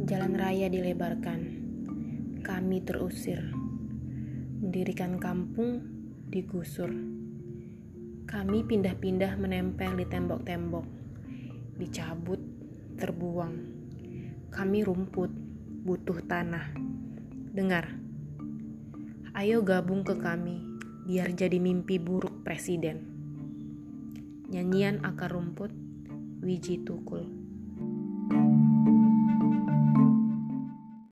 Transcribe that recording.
Jalan raya dilebarkan, kami terusir. Mendirikan kampung digusur. Kami pindah-pindah menempel di tembok-tembok, dicabut, terbuang. Kami rumput, butuh tanah. Dengar, ayo gabung ke kami, biar jadi mimpi buruk presiden. Nyanyian akar rumput, Wiji Tukul.